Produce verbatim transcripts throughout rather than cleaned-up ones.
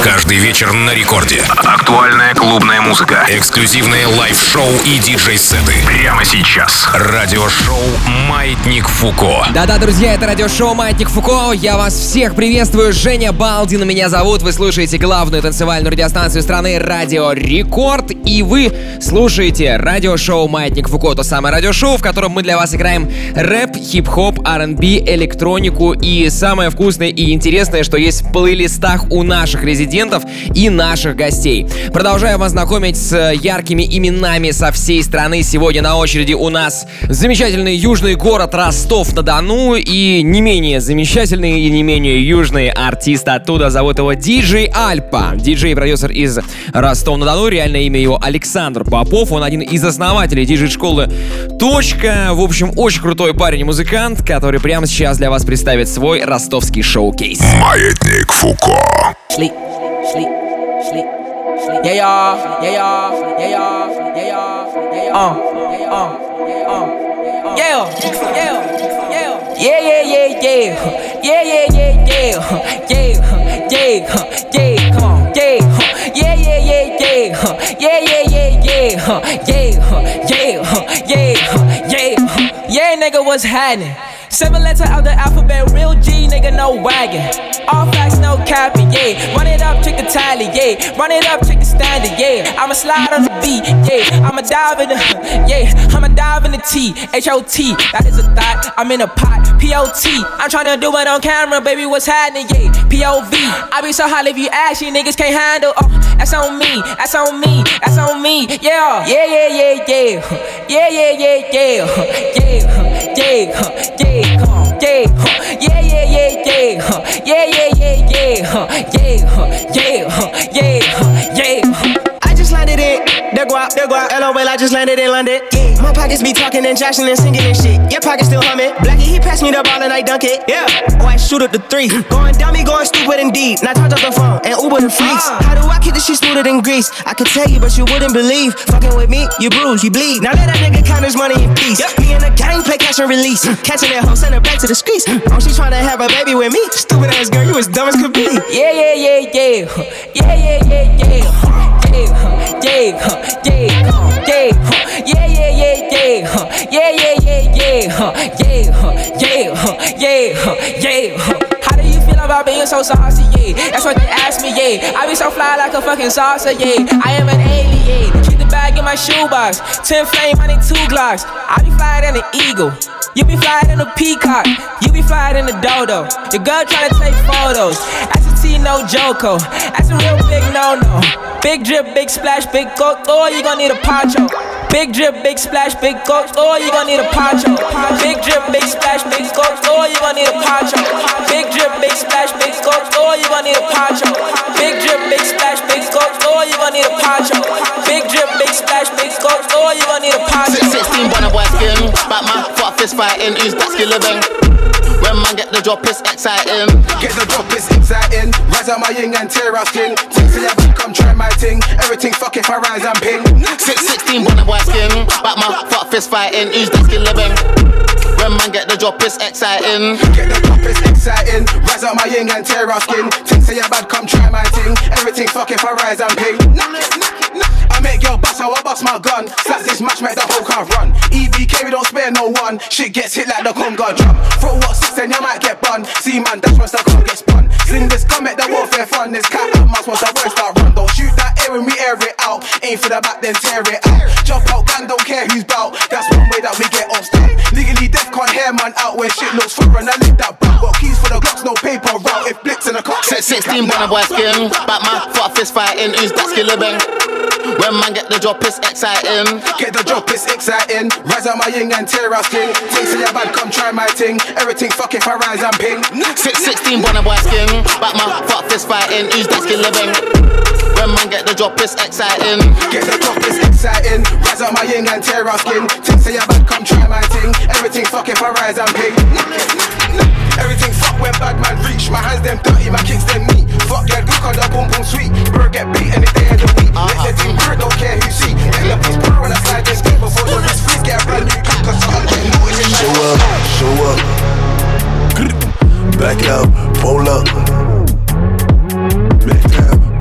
Каждый вечер на рекорде. Актуальная клубная музыка. Эксклюзивные лайв-шоу и диджей-сеты. Прямо сейчас. Радиошоу «Маятник Фуко». Да-да, друзья, это радиошоу «Маятник Фуко». Я вас всех приветствую. Женя Балдин меня зовут. Вы слушаете главную танцевальную радиостанцию страны «Радио Рекорд». И вы слушаете радиошоу «Маятник Фуко». То самое радиошоу, в котором мы для вас играем рэп, хип-хоп, ар энд би, электронику и самое вкусное и интересное, что есть в плейлистах у наших резидентов и наших гостей. Продолжаю вас знакомить с яркими именами со всей страны. Сегодня на очереди у нас замечательный южный город Ростов-на-Дону и не менее замечательный и не менее южный артист оттуда. Зовут его Диджей Альпа. Диджей и продюсер из Ростова-на-Дону. Реальное имя его Александр Попов. Он один из основателей диджей-школы «Точка». В общем, очень крутой парень и музыкант, который прямо сейчас для вас представит свой ростовский шоу-кейс. Маятник Фуко. Sleep, sleep, sleep, sleep. Yeah, yeah, yeah, yeah, yeah, yeah, yeah, yeah, uh, uh, uh, yeah, yeah, yeah, yeah, yeah, yeah, yeah, yeah, yeah, yeah, yeah, yeah, come on, yeah, yeah, yeah, yeah, yeah, yeah, yeah, yeah, yeah, yeah, yeah, yeah, yeah, yeah, nigga, what's happening? Seven letter out the alphabet, real G, nigga, no wagon. All facts, no capping, yeah. Run it up, check the tally, yeah. Run it up, check the standard, yeah. I'ma slide on the beat, yeah. I'ma dive in the, yeah. I'ma dive in the T, H O T. That is a thought, I'm in a pot, P O T. I'm tryna do it on camera, baby, what's happening, yeah. P O V. I be so hot if you ask, you niggas can't handle. Oh, that's on me, that's on me, that's on me, yeah. Yeah, yeah, yeah, yeah. Yeah, yeah, yeah, yeah. Yeah, yeah, yeah. Come on, yeah, yeah, yeah, yeah, yeah, yeah, yeah, yeah, yeah, yeah, yeah, yeah, yeah. I just landed it, there go out, there go out, LOL, I just landed in London. Yeah, my pockets be talking and joshing and singing and shit. Your pockets still humming. Blackie, he passed me the ball and I dunk it. Yeah, oh, I shoot up the three. Going dummy, going stupid indeed. Now charge up the phone and Uber the freaks. How do I keep this shit smoother than grease? I could tell you, but you wouldn't believe. Fucking with me, you bruise, you bleed. Now let that nigga count his money in peace. Me and the gang play catch and release. Catching that hoe, send her back to the streets. Oh, she tryna have a baby with me. Stupid ass girl, you as dumb as could be. Yeah, yeah, yeah, yeah. Yeah, yeah, yeah, yeah. Yeah, yeah, yeah, yeah, yeah, yeah, yeah, yeah, yeah, yeah, yeah, yeah, yeah, yeah, yeah. How do you feel about being so saucy? Yeah, that's what they ask me. Yeah, I be so fly like a fucking salsa. Yeah, I am an alien. Keep the bag in my shoebox. Ten flame, I need two Glocks. I be flying in an eagle. You be flying in a peacock. You be flying in a dodo. Your girl tryna take photos. That's a T, no Joko. That's a real big no-no. Big drip, big splash, big coke. Oh, you gon' need a poncho. Big drip, big splash, big coke. Oh, you gon' need a poncho. Big drip, big splash, big coke. Oh, you gon' need a poncho. Big drip, big splash, big coke. Oh, you gon' need a poncho. Big drip, big splash, big coke. Oh, you gon' need a poncho. Big drip, big splash, big coke. Oh, you gon' need a poncho. sixteen bonnet boy skin, Batman, fuck fist fighting. Who's that skill living? When man get the drop, it's exciting. Get the drop, it's exciting. Rise out my yin and tear our skin. Think say I can come try my thing. Everything fuck if I rise and ping. six sixteen bonnet boy skin, Batman, fuck fist fighting. Who's that skill living? When man get the drop, it's exciting. Get the drop, it's exciting. Rise out my yin and tear our skin. Think say I bad, come try my thing. Everything fuck if I rise and ping. I make your bust, how I bust my gun. Slaps this match, make the whole car run. E B K, we don't spare no one. Shit gets hit like the Conga drum. Throw what six and you might get bun. See man, that's once the car gets spun. Sling this gun, make the warfare fun. This cat and mouse once the boys start run. Don't shoot that air when we air it out. Aim for the back, then tear it out. Jump out, gang, don't care who's bout. That's one way that we get off stop. Legally deaf, can't hear man out when shit looks foreign. I lick that back. Got keys for the Glocks, no paper route. If blitz in the clock, sixteen bonnet boy skin, Batman, fuck fist fighting. Who's that skill living? When man get the drop, it's exciting. Get the drop, it's exciting. Rise out my yin and tear our skin. Think say I bad, come try my thing. Everything fuck if I rise and ping. six sixteen bonnet boy skin, Batman, fuck fist fighting. Who's that skill living? When man get the drop, it's exciting. Get the drop, it's exciting. Rise out my yin and tear our skin. Think say I bad, come try my thing. Everything fuck if I rise and ping. Everything fuck when bad man reach. My hands them dirty, my kicks them neat. Fuck yeah, good on the boom boom sweet. Bird get beat any day of the week. Let the team bird, don't care who see. Let the piece bird when I slide this game. Before the wrist freeze, get a brand new kick. Cause I'm getting noticed in show up, show up. Back it up, pull up. Back down,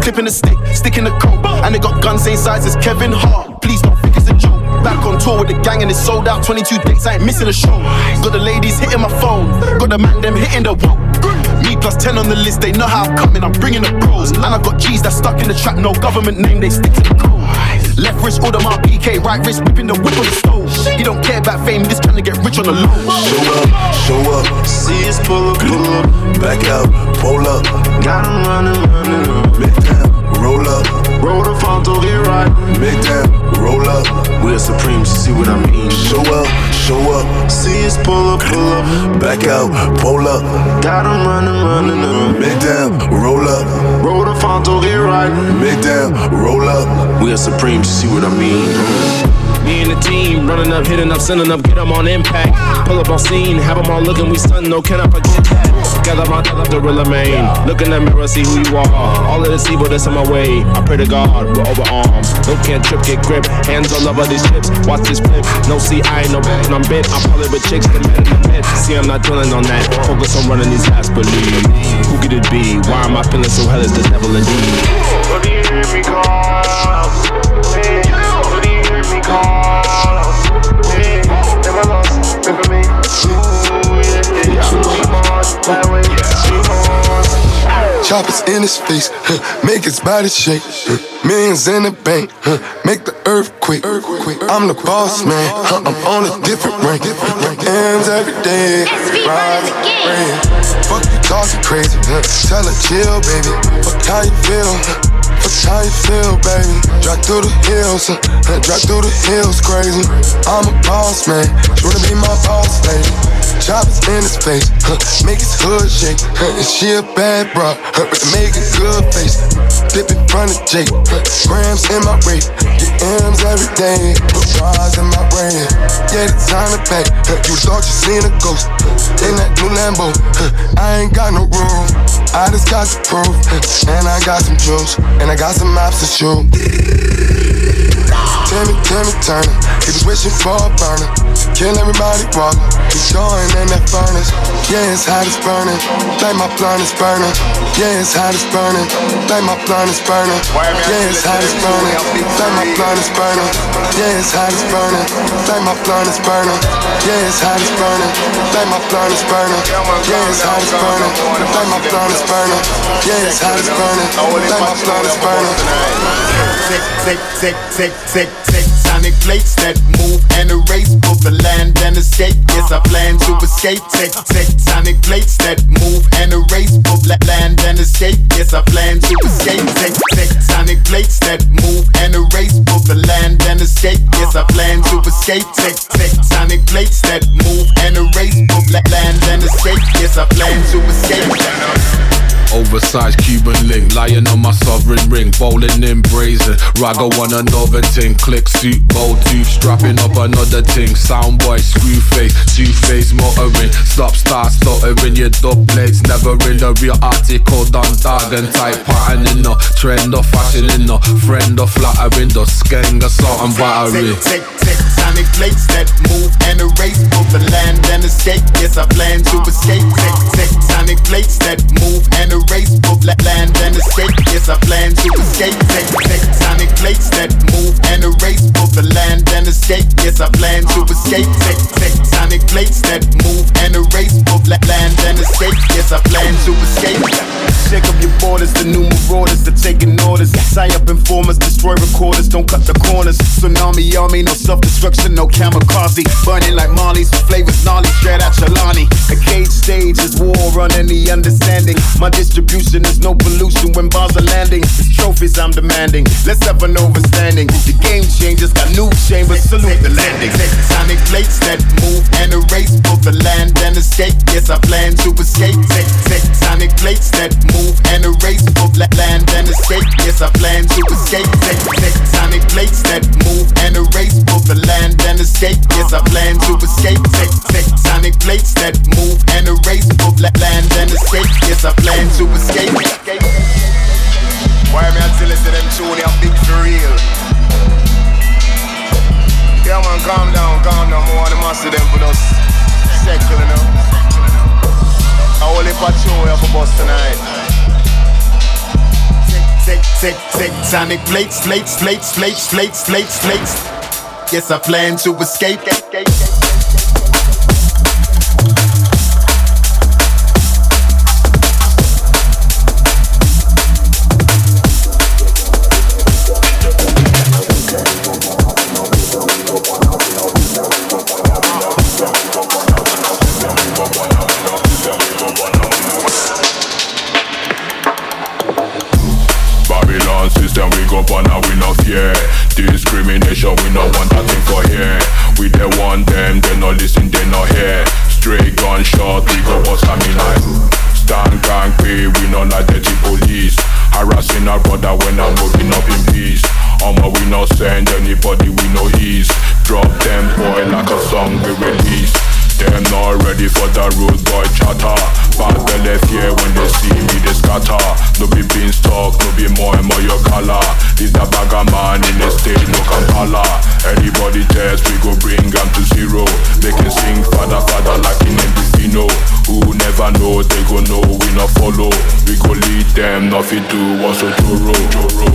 clipping the stick, sticking the coke. And they got guns same size as Kevin Hart. Please don't think it's a joke. Back on tour with the gang and it's sold out. twenty-two dates, I ain't missing a show. Got the ladies hitting my phone, got the man them hitting the wall. Me plus ten on the list, they know how I'm coming, I'm bringing the bros. And I got G's that stuck in the trap, no government name, they stick to the code. Left wrist, order my P K, right wrist, whipping the whip on the stove. He don't care about fame, he's just trying to get rich on the low. Show up, show up, see us pull up, pull up, back out, roll up. Got him running, running up. Make them roll up, roll the front to the right. Make them roll up. We're supreme, see what I mean. Show up, show up, see us pull up, pull up, back out, roll up. Got him running, running up. Make them roll up, roll the front to the right. Make them roll up. We're supreme, see what I mean. Me and the team, running up, hitting up, sending up, get them on impact. Pull up on scene, have them all looking, we stun, no, can I forget that? Gather my the real main. Look in the mirror, see who you are. All of this evil that's on my way. I pray to God, we're over arms. No can't trip, get grip. Hands all over these chips, watch this flip. No see, I ain't no bad, I'm bent. I'm probably with chicks, the men in the mid. See, I'm not dwelling on that. Focus on running these last, believe. Who could it be? Why am I feeling so hell is the devil indeed? What do you hear me call? What do you hear me call? Never lost, remember me. Ooh, yeah, yeah. We march, that way, we march. Choppers in his face, huh, make his body shake. Huh, millions in the bank, huh, make the earthquake. I'm the boss man, huh, I'm on a different rank. M's every day, ride, rain. Fuck you talking crazy, huh, tell her chill, baby. Fuck how you feel, huh? Fuck how you feel, baby. Drive through the hills, huh, drive through the hills, crazy. I'm a boss man, she wanna be my boss lady. Choppers in his face, huh, make his hood shake, huh, and she a bad bro, huh, with the make a good face. Dip in front of Jake, huh, grams in my rate, get M's every day, put bras in my brain. Yeah, the time to pay, huh, you thought you seen a ghost, huh, in that new Lambo, huh, I ain't got no room, I just got the proof, huh, and I got some juice, and I got some options too. Timmy, Timmy Turner, he was wishing for a burner. Kill everybody walking, he's going in that furnace. Yeah, it's hot as burning, like my blunt is burning. Yeah, it's hot as burning, like my blunt is burning. Yeah, it's hot as burning, like my blunt is burning. Yeah, it's hot as burning, like my blunt is burning. Yeah, it's hot as burning, like my blunt is burning. Yeah, it's hot as burning, like my blunt is burning. Yeah, it's hot as burning, like my blunt is burning. Tick, tick, tick, tick, tick, tick, sonic plates that move and erase both the land and escape. Yes, I plan to escape. Tick, tick, sonic plates that move and erase both la- land and escape. Yes, I plan to escape. Tick, tick, sonic plates that move and erase both the land and escape. Yes, I plan to escape. Tick, tick, sonic plates that move and erase both la- land and escape. Yes, I plan to escape. Oversized Cuban link, lying on my sovereign ring, bowling in brazen. Rago on another ting, click suit, bow tooth, strapping up another ting. Soundboy, screw face, two face motoring. Stop, start, stuttering, your dub plates never in the real article. Done dog and type pattern in the trend of fashion in the friend of flattering the skeng assault and battery. Tick, tick, tick, sonic plates that move and erase both the land and escape. Yes, I plan to escape. Tick, tick, sonic plates that move and erase both land and escape. Yes, I plan to escape. Tick, tick, sonic plates that move and erase both the land and escape. Yes, I plan to escape. Tick, tick, sonic plates that move and erase both land and escape. Yes, I plan to escape. Shake up your borders, the new marauders, they're taking orders. Tie up informers, destroy recorders, don't cut the corners. Tsunami army, no self-destruction, no kamikaze. Burning like Marley's, flavors gnarly, straight out Chelani. A cage stage is war on any understanding. My distribution is no pollution when bars are landing. It's trophies I'm demanding, let's have an overstanding. The game changers got new chambers, salute the landing. Sonic plates that move and erase both the land and escape. Yes, I plan to escape. Tick, tick, sonic plates that move and erase both land and escape. Yes, I plan to escape. Tick, tick, sonic plates that move and erase both the land and escape. Yes, I plan to escape. Tick, tick, sonic plates that move and erase both land and escape. Yes, I plan to escape. Why me until I see them tune, I'm big for real. Yeah man, calm down, calm down. I want to master them for us. Circle, you know. I will leave a tune here for bus tonight. tectonic plates, plates, plates, plates, plates, plates, plates. Yes, I plan to escape. System we go on and we no fear discrimination, we no want that thing for here. We they want them, they no listen, they no hear. Straight gunshot, we go bust a me like stand gang pay, we no like dirty police. Harassing our brother when I'm moving up in peace. Omo we no send anybody, we no ease. Drop them boy like a song we release. Them not ready for the rude boy chatter. Bad belly fear when they see me they scatter. No be beanstalk, no be more and more your color. Leave the bagger man in the state, no Kampala. Anybody test, we go bring them to zero. They can sing father father like in Endifino. Who never know, they go know, we not follow. We go lead them, nothing do, what's a Joro, Joro.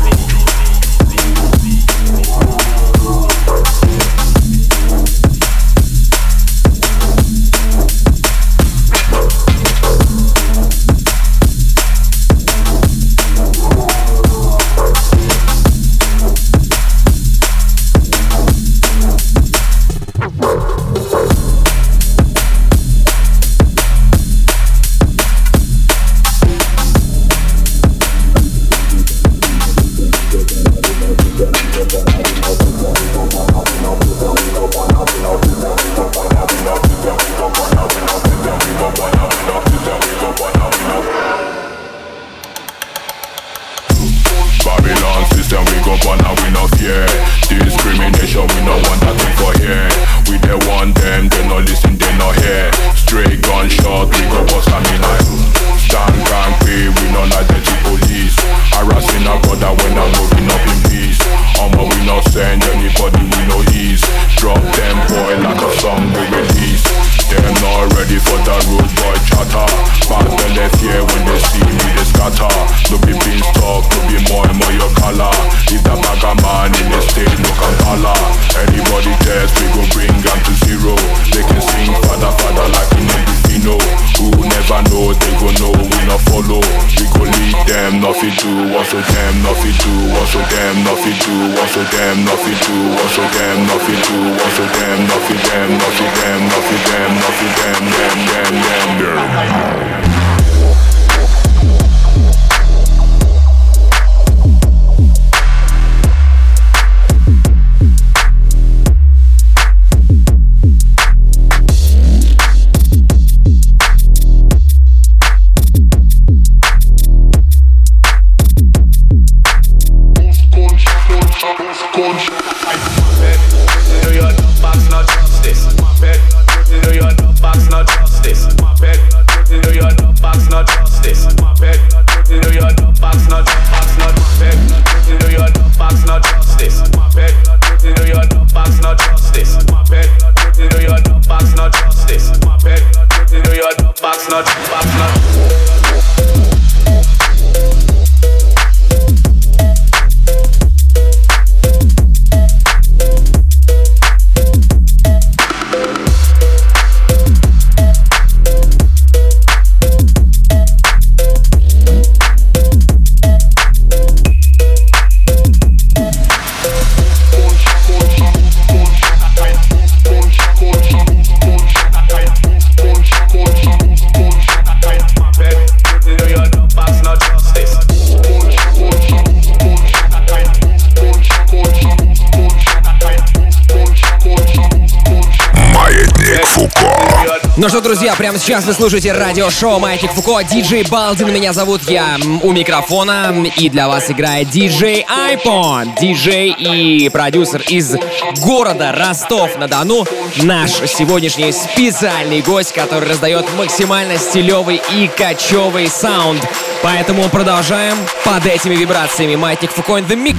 Ну что, друзья, прямо сейчас вы слушаете радиошоу «Маятник Фуко». Диджей Балдин меня зовут, я у микрофона. И для вас играет диджей Айпон, диджей и продюсер из города Ростов-на-Дону. Наш сегодняшний специальный гость, который раздает максимально стилевый и качевый саунд. Поэтому продолжаем под этими вибрациями. «Маятник Фуко» in the mix.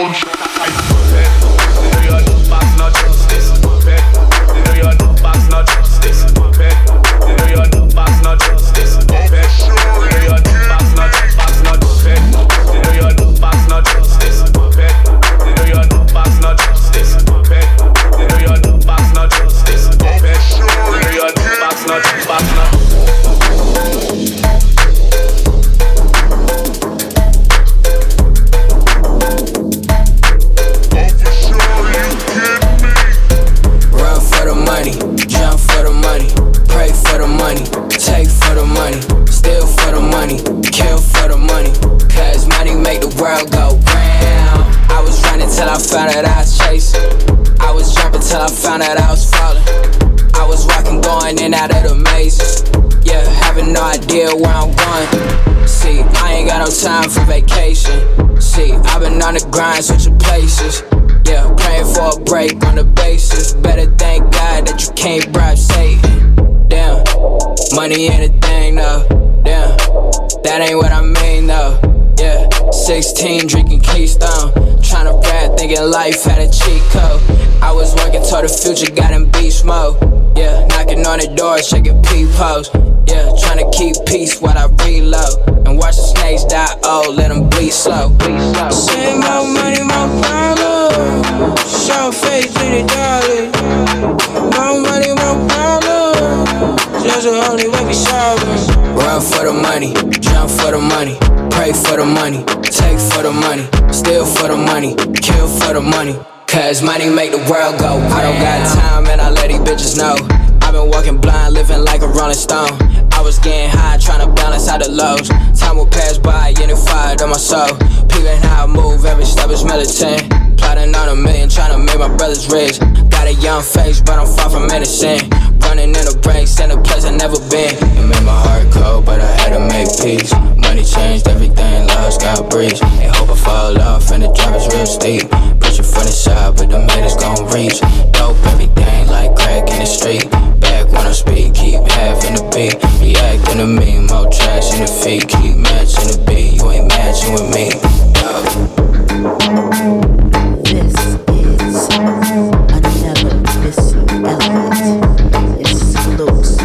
Time for vacation. See, I've been on the grind, switching places. Yeah, praying for a break on the basis. Better thank God that you can't bribe Satan. Damn, money ain't a thing though. Damn, that ain't what I mean though. Yeah, sixteen drinking Keystone, tryna rap, thinking life had a cheat code. I was working toward the future, got in beast mode. Yeah, knocking on the door, shaking peepholes. Yeah, tryna keep peace while I reload. And watch the snakes die, oh, let them bleed slow. Say more money, more problems. Show face in the dollars. More money, more problems. That's the only way we solve them. Run for the money, jump for the money. Pray for the money, take for the money. Steal for the money, kill for the money. Cause money make the world go. I don't got time and I let these bitches know. I've been walking blind, living like a rolling stone. I was getting high, trying to balance out the lows. Time will pass by, unified on my soul. Peeping how I move, every step is militant. Plotting on a million, trying to make my brothers rich. Got a young face, but I'm far from innocent. Running in the brakes, in a place I never been. It made my heart cold, but I had to make peace. Money changed everything, love's got breeze. Ain't hope I fall off, and the drop is real steep. Pushing from the side, but the haters gon' reach. Dope everything like crack in the street. Back when I speak, keep half in the beat. Reacting to me, more trash in the feet. Keep matching the beat, you ain't matching with me. This is another Missy Elliott exclusive.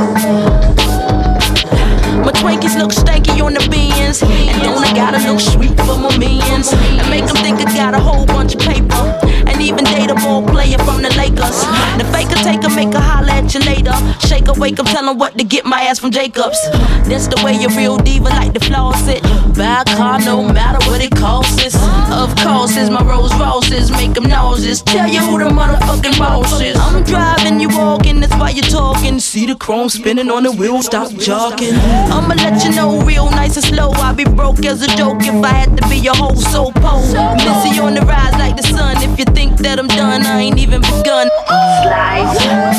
My Twinkies look stanky on the beans, and don't I gotta look sweet for my minions, and make them think I got a whole bunch of paper, and even date a ball player from the Lakers. The faker take her, make her holler at you later. Shake her, wake up, tell her what to get my ass from Jacobs. That's the way your real diva like to floss it. Buy a car no matter what it costs. Of course, it's my Rolls Royces, make them nauseous. Tell you who the motherfucking boss is. I'm driving, you walking, that's why you talking. See the chrome spinning on the wheel, stop jogging. I'ma let you know real nice and slow. I'll be broke as a joke if I had to be your whole soul pole. Missy on the rise like the sun. If you think that I'm done, I ain't even begun. Slide,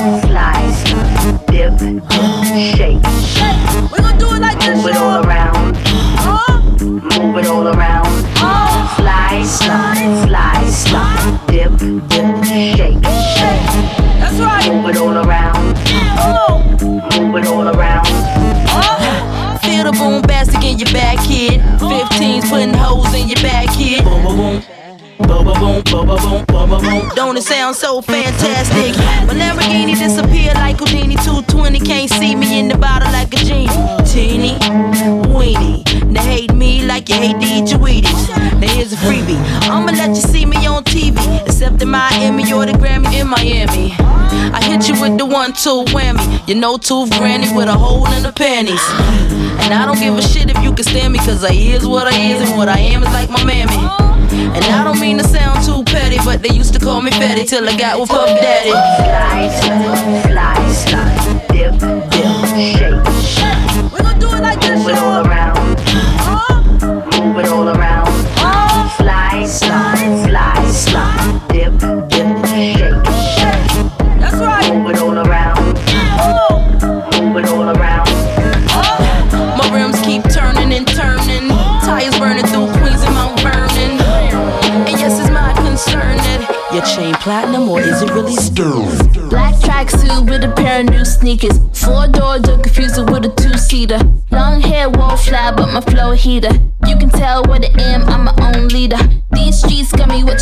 slide, dip, shake. We gon' do it like this, move it all around. Huh? Move it all around. Uh, slide, slide, slide, slide, dip, dip, shake, shake. That's right. Move it all around. Oh. Move it all around. Uh, feel the boom bastic in your back, kid. fifteens putting holes in your back, kid. Boom, boom, boom. Boom, boom, boom, boom, boom, boom, boom. Don't it sound so fantastic? My Lamborghini disappeared like Houdini. two twenty can't see me in the bottle like a genie. Teeny, weenie. They hate me like you hate to eat your Wheaties. Now here's a freebie. I'ma let you see me on T V, except in Miami or the Grammy in Miami. I hit you with the one two whammy. You know tooth granny with a hole in the panties. And I don't give a shit if you can stand me, cause I is what I is and what I am is like my mammy. And I don't mean to sound too petty, but they used to call me Fetty till I got with Puff Daddy. Slide, slide, slide, dip, dip, shake. We gon' do it like this, move it all around. Uh, move it all around. Uh, slide, slide, slide, slide, dip, dip, shake, shake. That's right. Move it all around. Oh. Move it all around. Uh, my rims keep turning and turning. Tires burning through Queens and Mount Vernon. And yes, it's my concern that your chain platinum or is it really stone? Black tracksuit with a pair of new sneakers. Four door, don't confuse it with a two seater. Long hair won't fly, but my flow heater. You can tell what I am, I'm my own leader. These streets got me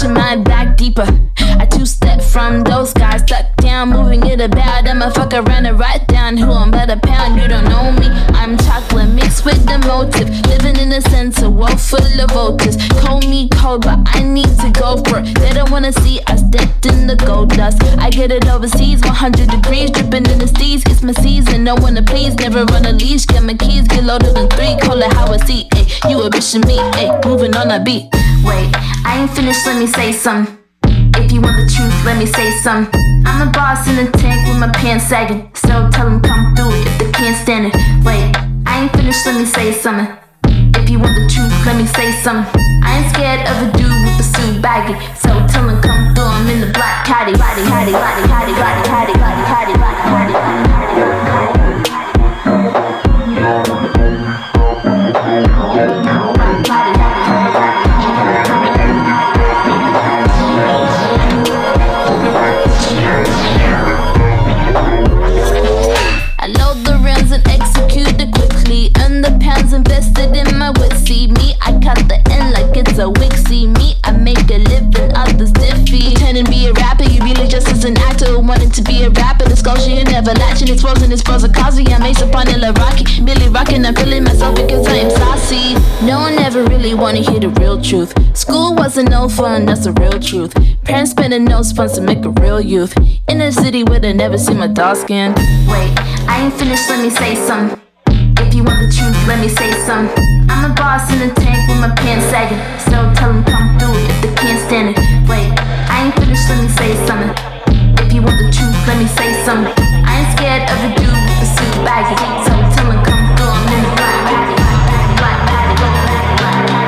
pushing my back deeper. I two-step from those guys, stuck down, moving it about. I'ma fuck around and write down who I'm about to pound. You don't know me, I'm chocolate mixed with the motive. Living in the center, world full of voters. Call me cold, but I need to go for it. They don't wanna see us decked in the gold dust. I get it overseas, one hundred degrees, dripping in the steez. It's my season, no one to please, never run a leash. Get my keys, get loaded in three, call it how I see. Ayy, you a bitch and me, ayy, moving on a beat. Wait, I ain't finished, let me say something. If you want the truth, let me say something. I'm a boss in the tank with my pants sagging. So tell them come through if they can't stand it. Wait, I ain't finished, let me say something. If you want the truth, let me say something. I ain't scared of a dude with a suit baggy. So tell him come through, I'm in the black caddy. Body, body, body, body, body, body, body, body, body, body, body. I load the rounds and execute it quickly. And the pounds invested in my wit. See me, I cut the end like it's a wig. See me, I make a living, others diffy. Pretending to be a rapper, you really just as an actor wanting to be a rapper. The sculpture you never latching, it's frozen, it's frozen Cosby. I'm Ace upon it like Rocky, Billy rockin', I'm feeling myself because I am saucy. No one ever really wanna hear the real truth. School wasn't no fun, that's the real truth. Parents spending no funds to make a real youth. In a city where they never see my dark skin. Wait, I ain't finished, let me say something. If you want the truth, let me say something. I'm a boss in the tank with my pants sagging. So tell them come through if they can't stand it. Wait, I ain't finished, let me say something. If you want the truth, let me say something. I ain't scared of a dude with a suit baggy. So tell them come through, I'm in the black paddy. Black paddy, black paddy.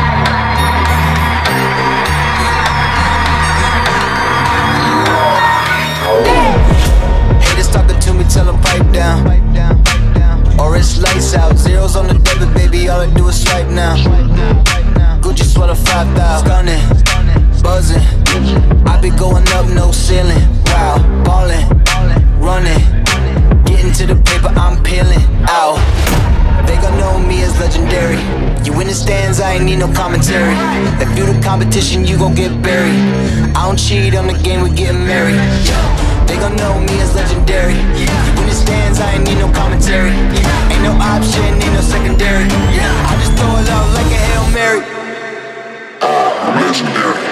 Haters talking to me, tell them pipe down. Or it's lights out, zeros on the debit, baby, all I do is swipe now. Gucci sweater five thousand, stunning, buzzing. I be going up, no ceiling. Wow, ballin', running, getting to the paper, I'm peeling out. They gon' know me as legendary. You in the stands, I ain't need no commentary. If you the competition, you gon' get buried. I don't cheat on the game, we getting married. They gon' know me as legendary. You in the stands, I ain't need no commentary. Ain't no option, ain't no secondary. I just throw it out like a Hail Mary. Legendary.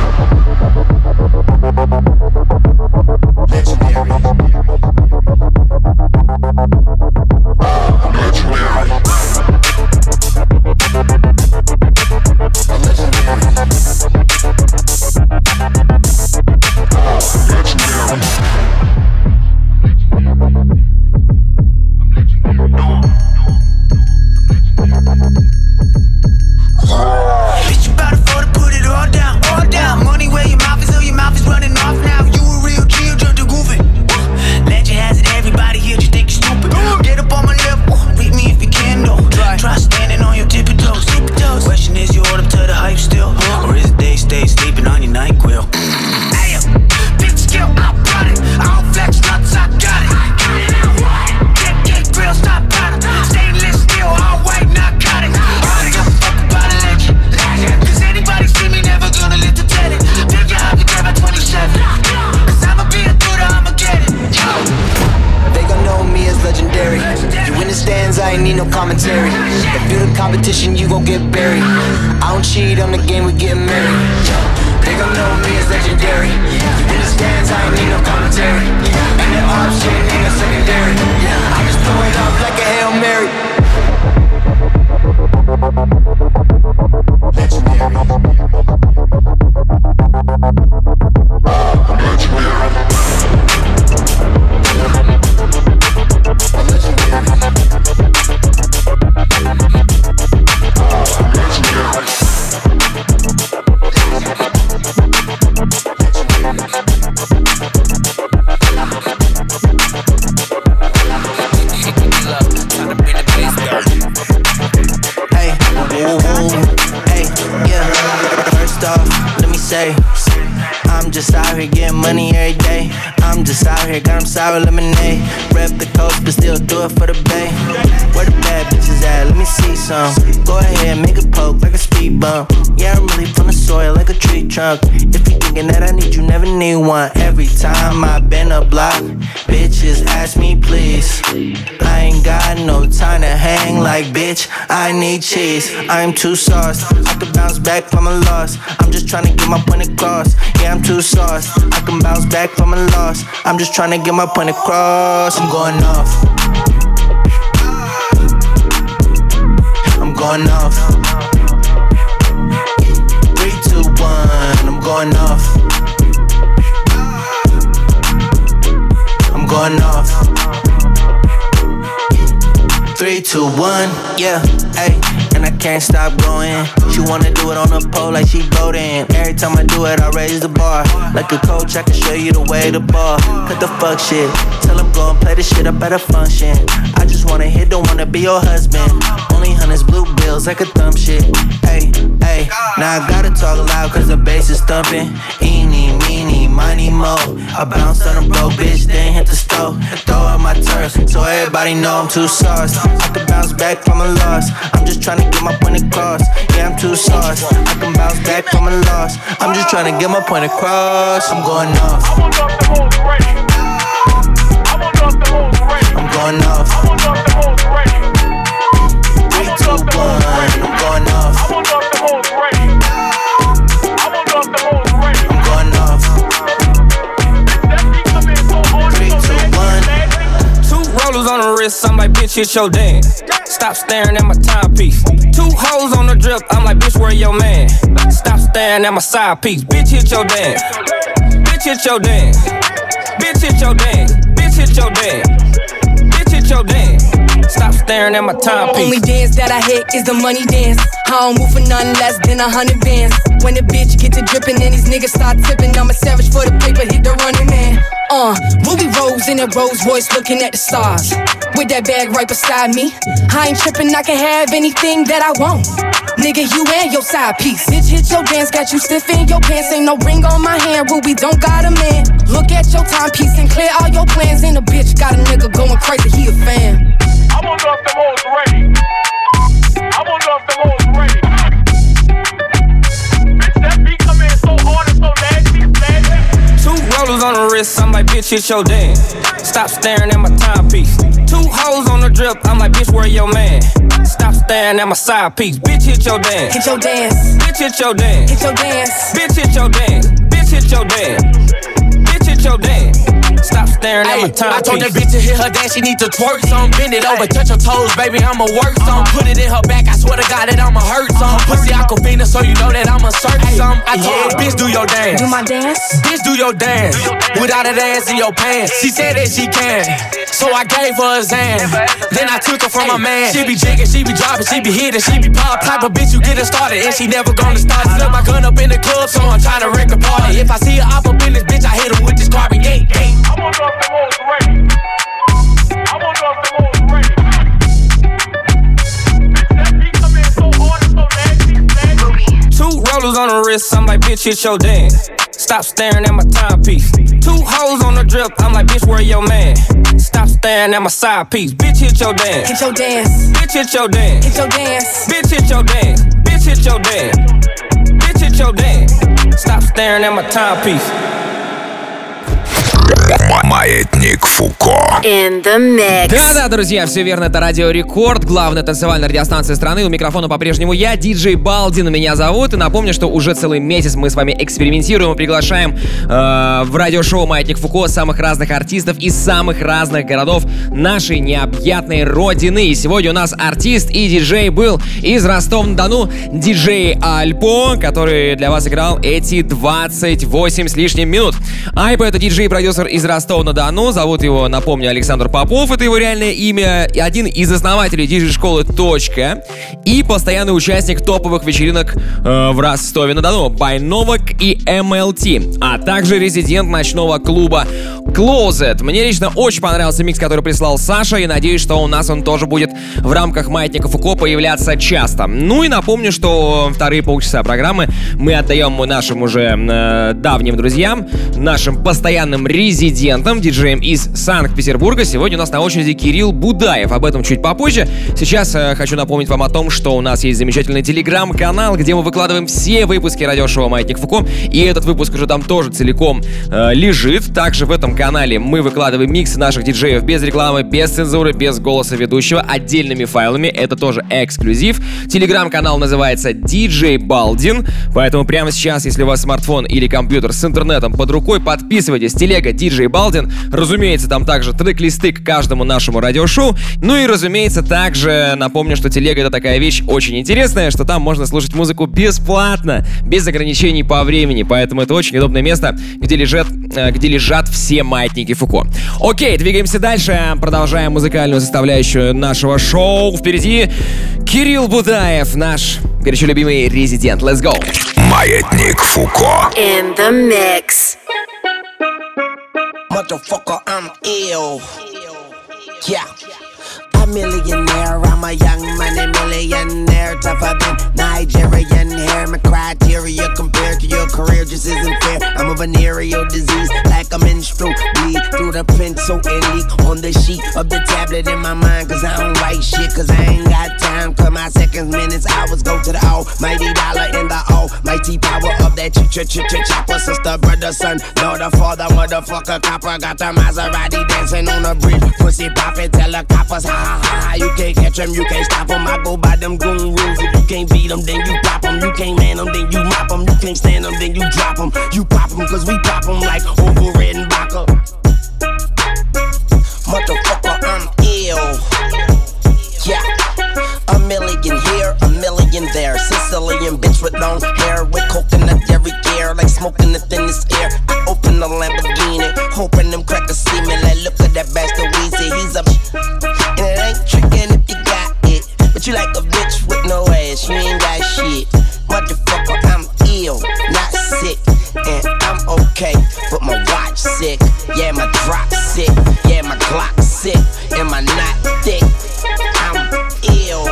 Sour lemonade, rep the coast, but still do it for the bay. Where the bad bitches at? Let me see some. Go ahead, make a poke like a speed bump. Yeah, I'm really from the soil like a tree trunk. If you thinking that I need you, never need one. Every time I've been a block, bitches ask me please. I ain't got no time to hang like bitch, I need cheese. I'm too sauced, I can bounce back from a loss. I'm just trying to get my point across. Yeah, I'm too sauced, I can bounce back from a loss. I'm just trying to get my point across. I'm going off, I'm going off. Three, two, one, I'm going off. I'm going off. Three, two, one, yeah, ayy. And I can't stop going. She wanna do it on the pole like she voting. Every time I do it, I raise the bar. Like a coach, I can show you the way to ball. Cut the fuck shit. Tell him go and play the shit up at a function. I just wanna hit, don't wanna be your husband. Only hundreds, blue bills, like a thumb shit. Ayy, ayy. Now I gotta talk loud cause the bass is thumping. Eeny, meeny, miny, mo. I bounced on a broke bitch, then hit the stove. Throw out my turf, so everybody know I'm too sauced. I can bounce back from a loss. I'm just trying to get my point across. Yeah, I'm too sauced. I can bounce back from a loss. I'm just trying to get my point across. I'm going off. I'm going off. Three, two, one. I'm going off. I'm going off. Three, two, one. Two rollers on the wrist. I'm like, bitch, hit your dance. Stop staring at my timepiece. Two hoes on the drip, I'm like, bitch, where your man? Stop staring at my side piece. Bitch, hit your dance. Bitch, hit your dance. Bitch, hit your dance. Bitch, hit your dance. Bitch, hit your dance. Stop staring at my timepiece. Only dance that I hit is the money dance. I don't move for nothing less than a hundred bands. When the bitch get to drippin' and these niggas start tippin', I'm a savage for the paper, hit the running man. Uh, Ruby Rose in a Rolls Royce looking at the stars. With that bag right beside me. I ain't trippin', I can have anything that I want. Nigga, you and your side piece. Bitch, hit your dance, got you stiff in your pants. Ain't no ring on my hand, Ruby don't got a man. Look at your timepiece and clear all your plans. And a bitch got a nigga going crazy, he a fan. I wonder if them hoes ready. I wonder if them hoes ready. Bitch, that beat come in so hard and so nasty, nasty. Two rollers on the wrist, I'm like, bitch, hit your dance. Stop staring at my timepiece. Two hoes on the drip, I'm like, bitch, where your man? Stop staring at my side piece. Bitch, hit your dance. Hit your dance. Bitch, hit your dance. Hit your dance. Bitch, hit your dance. Bitch, hit your dance. Bitch, hit your dance. Stop staring at my timepiece. I told that bitch to hit her dance, she need to twerk some. Bend it over, touch her toes, baby, I'ma work some. Put it in her back, I swear to God that I'ma hurt some. Pussy Aquafina, so you know that I'ma search some. I told her, bitch, do your dance. Do my dance? Bitch, do your dance. Without a dance in your pants. She said that she can, so I gave her a Zan. Then I took her from my man. She be jigging, she be dropping, she be hitting, she be pop. Type of bitch you get her started, and she never gonna start. Slip my gun up in the club, so I'm trying to wreck the party. If I see her up up in this bitch, I hit her with this carbon. Yeah, yeah. I wonder if them hoes ready. I wonder if them hoes ready. Bitch, that beat come in so hard and so nasty, nasty. Two rollers on the wrist, I'm like, bitch, hit your dance. Stop staring at my timepiece. Two hoes on the drip, I'm like, bitch, where your man? Stop staring at my side piece. Bitch, hit your dance. Hit your dance. Bitch, hit your dance. Hit your dance. Bitch, hit your dance. Bitch, hit your dance. Bitch, hit your dance. Stop staring at my timepiece. Маятник Фуко. In the mix. Да-да, друзья, все верно, это Радио Рекорд, главная танцевальная радиостанция страны. У микрофона по-прежнему я, диджей Балдин, меня зовут. И напомню, что уже целый месяц мы с вами экспериментируем и приглашаем э, в радиошоу «Маятник Фуко» самых разных артистов из самых разных городов нашей необъятной родины. И сегодня у нас артист и диджей был из Ростова-на-Дону, диджей Альпо, который для вас играл эти двадцать восемь с лишним минут. Альпо — это диджей и продюсер из Ростова-на-Дону. Зовут его, напомню, Александр Попов. Это его реальное имя. Один из основателей диджей-школы «Точка». И постоянный участник топовых вечеринок э, в Ростове-на-Дону Байновок и эм эл ти. А также резидент ночного клуба Closet. Мне лично очень понравился микс, который прислал Саша. И надеюсь, что у нас он тоже будет в рамках «Маятника Фуко» появляться часто. Ну и напомню, что вторые полчаса программы мы отдаем нашим уже э, давним друзьям, нашим постоянным резидентам, резидентом, диджеем из Санкт-Петербурга. Сегодня у нас на очереди Кирилл Будаев. Об этом чуть попозже. Сейчас э, хочу напомнить вам о том, что у нас есть замечательный телеграм-канал, где мы выкладываем все выпуски радиошоу «Маятник Фуко». И этот выпуск уже там тоже целиком э, лежит. Также в этом канале мы выкладываем миксы наших диджеев без рекламы, без цензуры, без голоса ведущего, отдельными файлами. Это тоже эксклюзив. Телеграм-канал называется ди джей Балдин. Поэтому прямо сейчас, если у вас смартфон или компьютер с интернетом под рукой, подписывайтесь. Телега ди джей Балдин. Разумеется, там также трек-листы к каждому нашему радиошоу. Ну и, разумеется, также напомню, что телега — это такая вещь очень интересная, что там можно слушать музыку бесплатно, без ограничений по времени. Поэтому это очень удобное место, где лежат, где лежат все маятники Фуко. Окей, двигаемся дальше. Продолжаем музыкальную составляющую нашего шоу. Впереди Кирилл Будаев, наш горячо любимый резидент. Let's go! Маятник Фуко. In the mix. Motherfucker, I'm ill. Yeah. A millionaire, I'm a young money millionaire. Tougher than Nigerian hair. My criteria compared to your career just isn't fair. I'm a venereal disease, like a menstrual bleed through the pencil and leak on the sheet of the tablet in my mind. Cause I don't write shit, cause I ain't got time. Cause my seconds, minutes, hours go to the almighty dollar and the almighty power of that ch-ch-ch-ch-chopper. Sister, brother, son, daughter, father, motherfucker, copper. Got the Maserati dancing on the bridge. Pussy poppin', tell the coppers, ha ha ha. You can't catch them, you can't stop them. I go by them goon rules. If you can't beat them, then you pop them. You can't man them, then you mop them. You can't stand them, then you drop them. You pop them, cause we pop them like Ovo Red and Baca. Motherfucker, I'm ill. Yeah. A million here, a million there. Sicilian bitch with long hair, with coconut every gear, like smoking the thinnest air. I open the Lamborghini, hoping them crackers see me. Like, look at that bastard Weezy, he's a and it ain't tricking if you got it. But you like a bitch with no ass, you ain't got shit. Motherfucker, I'm ill, not sick, and I'm okay, but my watch sick. Yeah, my drop sick, yeah, my Glock sick, and my knot thick. I'm ill.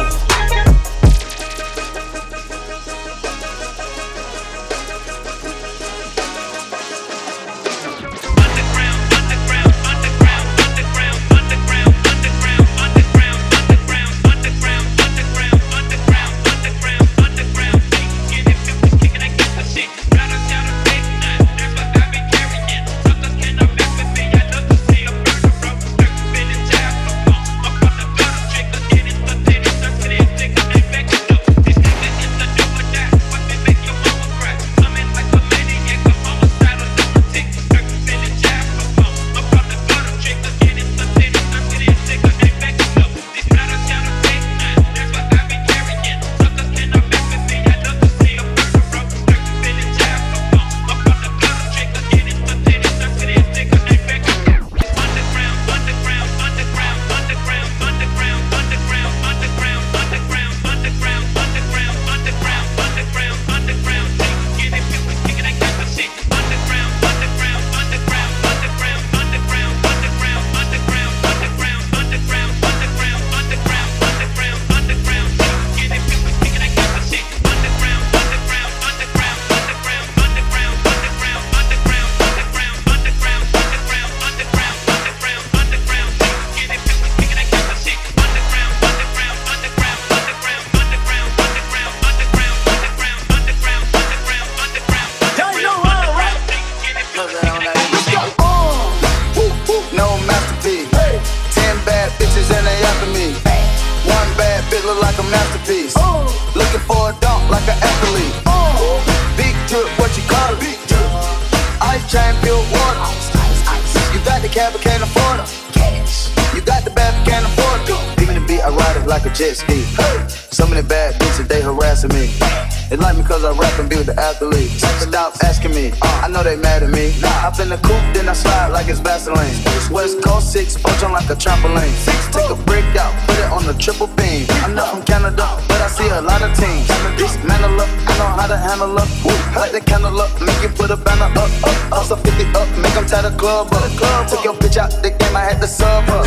Jet ski. Some of the bad bitches, they harassing me. They like me cause I rap and be with the athletes. Stop asking me, I know they mad at me. Hop in the coupe, then I slide like it's Vaseline. West Coast six, punch on like a trampoline. Take a brick out, put it on the triple beam. I'm not from Canada, but I see a lot of teams. Dismantle up, I know how to handle up. Light the candle up, make you put a banner up, up. Also fifty up, make them tie the club up. Took your bitch out the game, I had to sub her.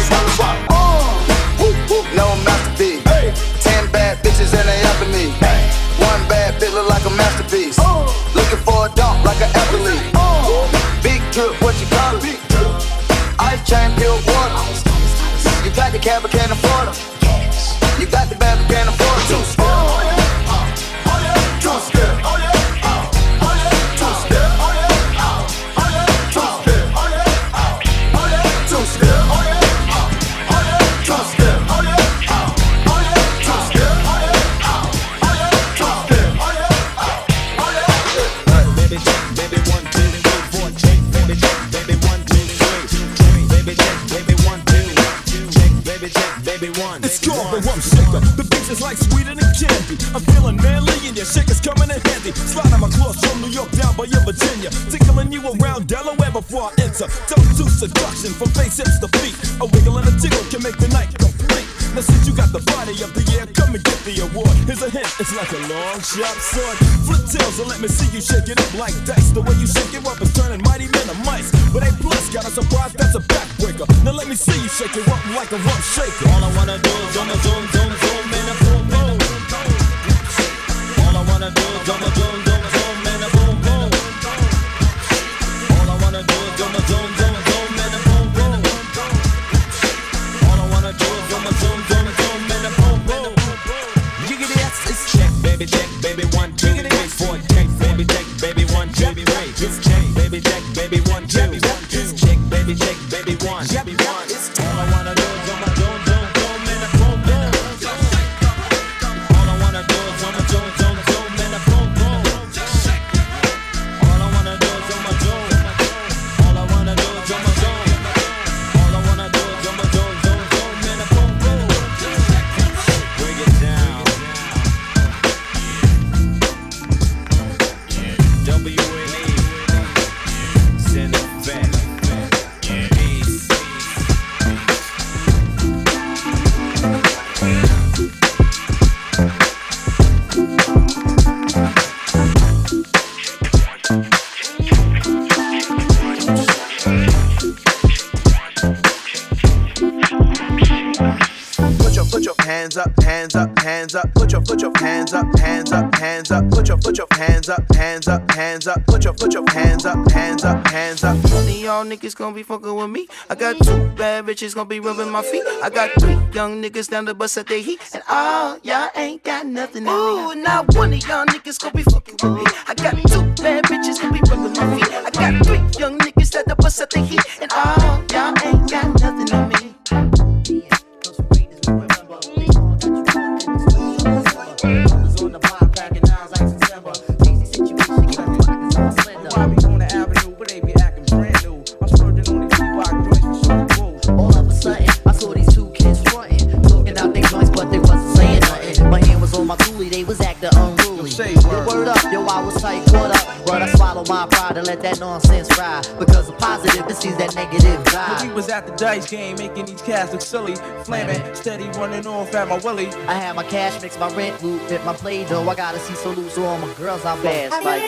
No masterpiece. Ten bad bitches and they after me. One bad bitch look like a masterpiece. Looking for a dunk like an athlete. Big drip, what you call it? cab, but can't afford them. You got the bad, but can't afford them. Two step. Oh yeah, oh, oh yeah. Two step. Oh yeah, oh, oh yeah. Two step. Oh yeah, oh, oh yeah. Two step. Oh yeah, oh, oh yeah. Two step. Oh yeah, oh, oh yeah. Two step. Oh yeah, oh, oh yeah. Two step. Oh yeah, oh, oh yeah. Two step. Oh yeah, oh, oh yeah. Hey, baby, check, baby, one, two, three, four, check, baby, check, baby, one, two, three, check, baby, check, baby, one, two, check, baby, check, baby, one. It's called the Rump Shaker. The beach is like sweeter than candy. I'm feeling manly and your shaker's coming in handy. Sliding my clothes from New York down by your Virginia. Tickling you around Delaware before I enter. Don't do seduction from face hips to feet. A wiggle and a jiggle can make the night complete. Now since you got the body of the year, come and get the award. Here's a hint, it's like a long, sharp sword. Flip tails and let me see you shake it up like dice. The way you shake it up is turning mighty men to mice. But A plus got a surprise, that's a backbreaker. Now let me see you shake it up like a rump shaker. All I wanna do is zoom, zoom, zoom, zoom, and a boom, boom. All I wanna do is zoom, zoom, zoom, zoom, and a boom, boom. All I wanna do is zoom, zoom, zoom, zoom, and a boom, boom. All I wanna do is zoom, zoom, zoom, zoom, and a boom, boom. Jiggity, yes, it's check, baby, check, baby, one, two, three, four, check, baby, check, baby, one, two, three, it's check, baby, check, baby, one, two, it's check, baby, check, baby, one, one. All I wanna do is zoom, zoom, zoom, zoom, and a boom, boom. All I wanna do is zoom, zoom, zoom, zoom, and a boom, boom. All I wanna do is zoom, zoom. All I wanna do is zoom, zoom. All I wanna do is zoom, zoom, zoom, zoom, and a boom, boom. Bring it down. W N E. Send it back. Peace. Put your put your hands up, hands up, hands up. Put your put your hands up, hands up, hands up. Put your put your hands up, hands up, hands up. Put your put your hands up, hands up, hands up. None of y'all niggas gon' be fucking with me. I got two bad bitches gon' be rubbing my feet. I got three young niggas down the bus at their heat. And all y'all ain't got nothing in me. Ooh, not one of y'all niggas gon' be fucking with me. I got two bad bitches gon' be rubbing my feet. I got three young niggas at the bus at their heat. And all y'all ain't got nothing in me. All of a sudden, I saw these two kids frontin', talking out their joints, but they wasn't saying nothing. My hand was on my coolie, they was acting unruly. Yo, word up, yo, I was tight, caught up, but I swallowed my pride and let that nonsense fry. Because the positive, it sees that negative vibe. We was at the dice game, making these cats look silly, flaming, steady running off at my willy. I had my cash mix, my rent loot, fit my play dough. I gotta see so loose, so all my girls I fast like.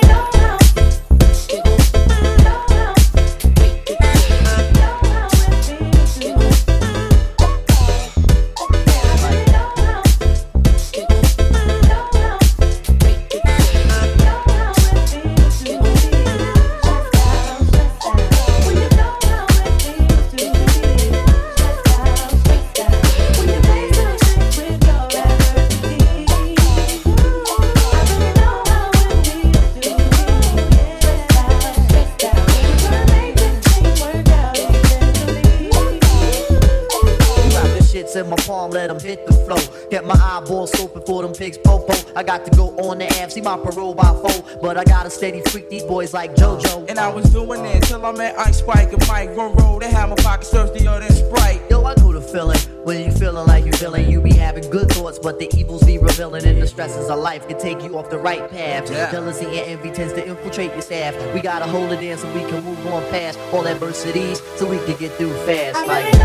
In my palm, let them hit the flow. Get my eyeballs open for them pigs popo. I got to go on the amp, see my parole by four. But I got a steady freak these boys like JoJo. And I was doing it till I met Ice Spike and Mike Monroe. They had my pockets thirstier than Sprite. Yo, I know the feeling. When you feeling like you feeling, you be having good thoughts, but the evils be revealing. And the stresses of life can take you off the right path. Yeah. Jealousy and envy tends to infiltrate your staff. We gotta hold it in so we can move on past all adversities, so we can get through fast. Like.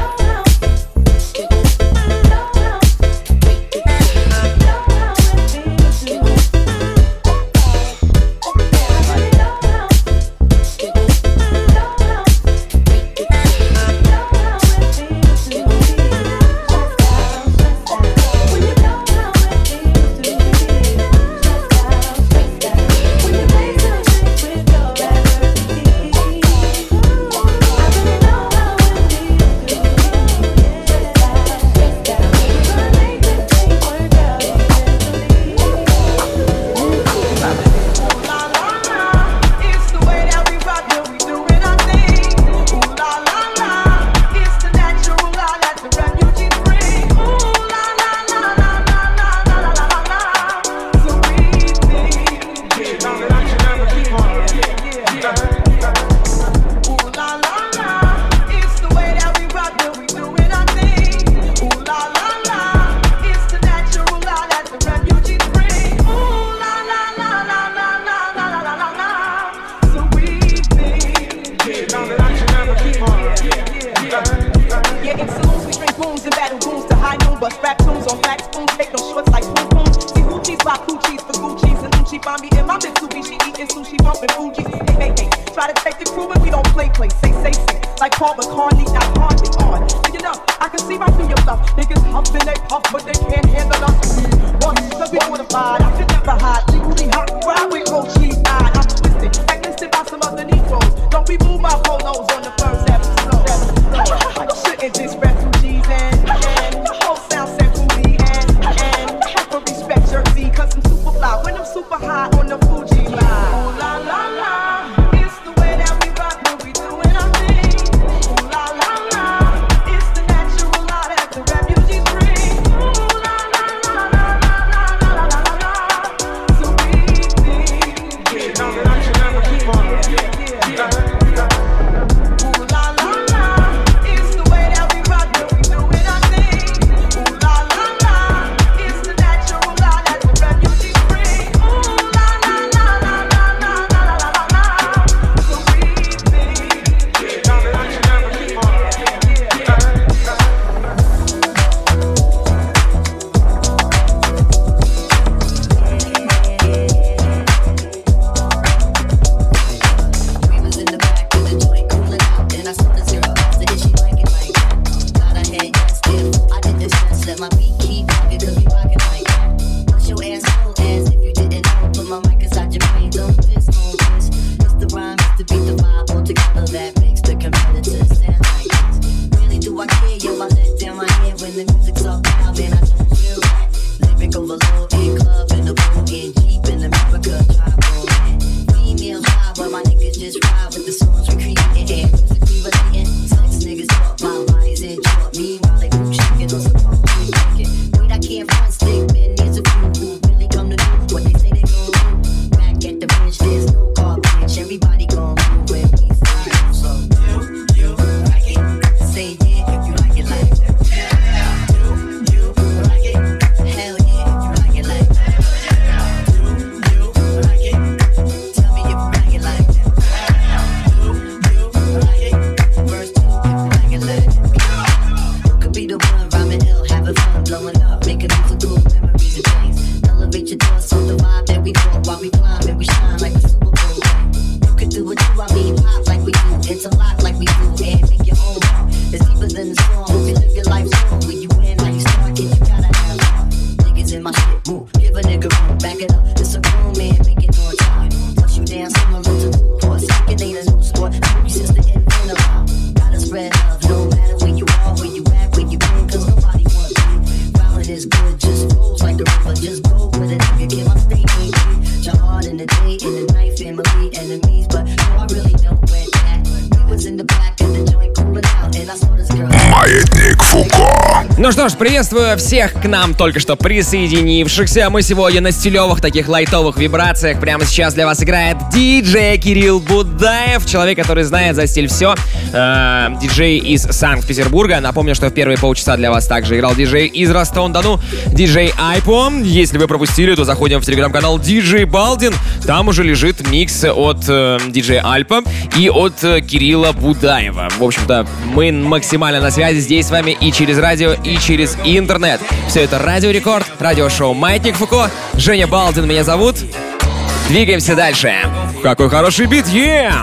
spoons and battle booms to high noon, bust rap tunes on flat spoons, take no shorts like spoon spoons. See hoochies by coochies for Gucci's and Gucci find me in my Mitsubishi eating sushi, bumping Fuji's. Hey, hey, hey, try to take the crew and we don't play play, say say say. Like Paul McCartney, not hardly on. Do you know, I can see right through your bluff. Niggas huffing, they puff, but they can't handle us. One, cause we mortified, I can never hide. Legally hot, ride with cold cheese eyed. I'm twisted, blacklisted by some other Negroes. Don't be moved by polos on the first episode. You shouldn't diss refugees and, and the whole sound set booty and, and have to respect Jersey, cause I'm super fly when I'm super high on the Fuji line. Ooh la la la, it's the way that we rock when we doing our thing. Ooh la la la, it's the natural law that the refugees bring. Ooh la la la la la la la la la la. So we think, yeah, no, no, you never keep on, yeah, yeah, yeah. Ну что ж, приветствую всех к нам только что присоединившихся. Мы сегодня на стилевых таких лайтовых вибрациях. Прямо сейчас для вас играет диджей Кирилл Будаев, человек, который знает за стиль все. Э, диджей из Санкт-Петербурга. Напомню, что в первые полчаса для вас также играл диджей из Ростова-на-Дону, диджей Айпо. Если вы пропустили, то заходим в телеграм-канал диджей Балдин. Там уже лежит микс от э, диджея Альпа и от э, Кирилла Будаева. В общем-то, мы максимально на связи здесь с вами и через радио, и через интернет. Все это Радио Рекорд, радиошоу «Маятник Фуко». Женя Балдин меня зовут. Двигаемся дальше. Какой хороший бит, yeah!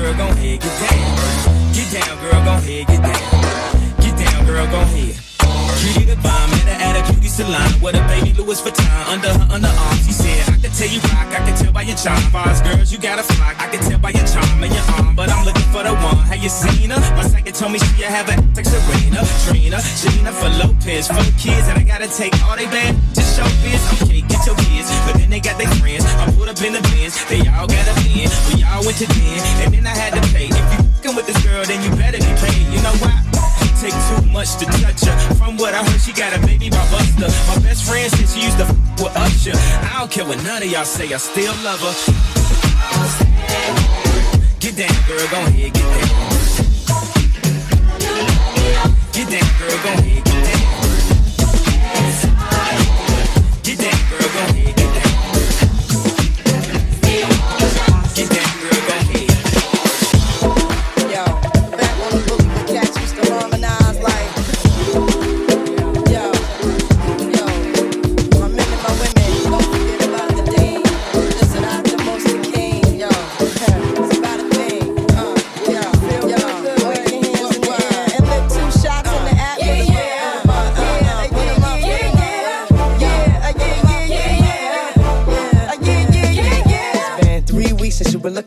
Salon with a baby Louis Vuitton under her underarms. She said, I can tell you rock, I can tell by your charm. Bars, girls, you got a flock, I can tell by your charm and your arm. But I'm looking for the one. Have you seen her? My psychic told me she have a like Serena, Trina, Gina for Lopez, for the kids, and I gotta take all they bad. Just show biz, okay, get your kids, but then they got their friends. I put up in the bins, they all got a bin. We all went to den, and then I had to pay. If you fucking with this girl, then you better be paid. You know why? Take too much to touch her. From what I heard, she got a baby by Buster. My best friend said she used to f with Usher. I don't care what none of y'all say, I still love her. Get down, girl, go ahead, get down. Get down, girl, go ahead, get down. Get down, girl, go ahead, get down. Get down, girl, go ahead. Yo, back on the boogie, the cats used to harmonize like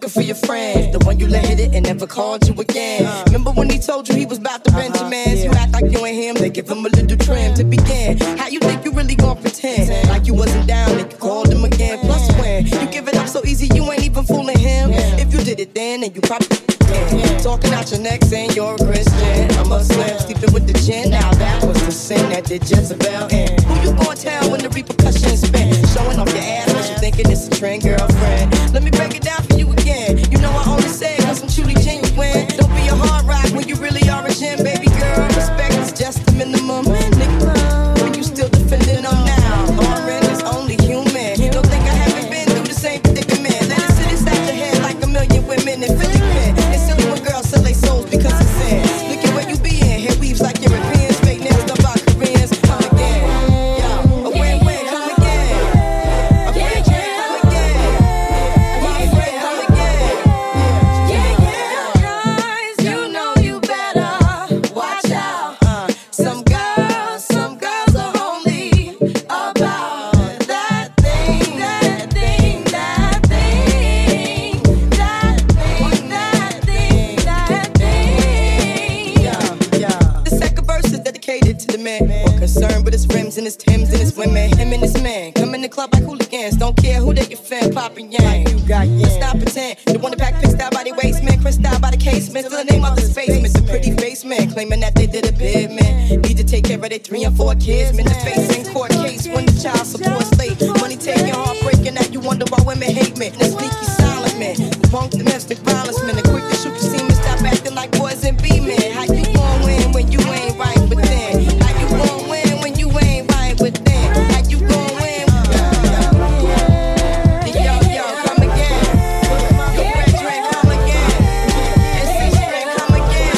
looking for your friend, the one you let hit it and never called you again. Remember when he told you he was about to Benjamins? You act like you ain't him, they give him a little trim to begin. How you think you really gon' pretend like you wasn't down and you called him again? Plus when you give it up so easy, you ain't even fooling him. If you did it then, then you probably can. Talking out your neck saying you're a Christian, a Muslim, sleeping with the gin. Now that was the sin that did Jezebel in. Who you gon' tell when the repercussions spin? Showing off your ass, but you thinking it's a trend, girlfriend. Let me break it down for you again. You know I only say it cause I'm truly genuine. Don't be a hard rock when you really are a gem, baby girl. Respect is just the minimum. Nigga, when you still defending them now. Lauren is only human. Don't think I haven't been through the same predicament. Let it sit inside your head like a million women in Philly pen. It's silly when girls sell their souls because it's sin. Look at where you be in. Hair weaves like Europeans. Fake nails done by Koreans. Come again. Yo, a win-win. Come again. A win-win. Come again. My friend, come again. Yeah, yeah. Guys, you know you better watch out. Uh, some girls, some girls are only about that thing, that thing, that thing, that thing, that thing, that thing. Yeah, yeah. The second verse is dedicated to the man, more concerned with his rims and his Timbs and his women. Him and his man come in the club like hooligans. Don't care who they get fan, popping yang. You got yeah. Let's not pretend. The one that pack picked out by the waist, man. Crissed out by the casement. Still the name of this basement. The pretty face man claiming that they did a bid, man. Need to take care of their three and four kids, man. The face in court case when the child support's late. Money taking, heartbreaking. Now you wonder why women hate me. And the sneaky silent man. The punk domestic violence man. The quick to shoot the semen. Stop acting like boys and be men. How you gon' win when you ain't right within? How you gon' win when you ain't right within? How you gon' win? Yo, yo, come again. Yo, red drink, come again. S C drink, come again.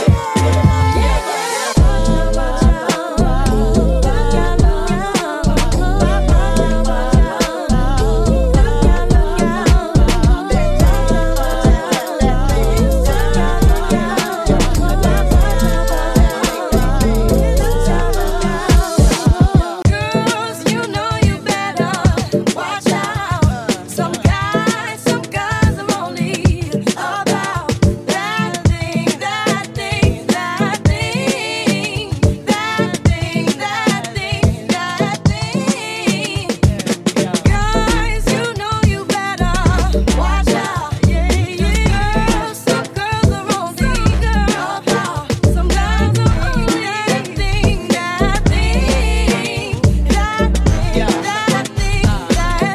Girls, you know you better watch out. Some guys, some guys are only about that thing, that thing, that thing, that thing, that thing, that thing. Guys, you know you better watch out. Yeah, yeah. Girls, some girls are only about. Some guys are only that thing, that thing, that thing, that thing, that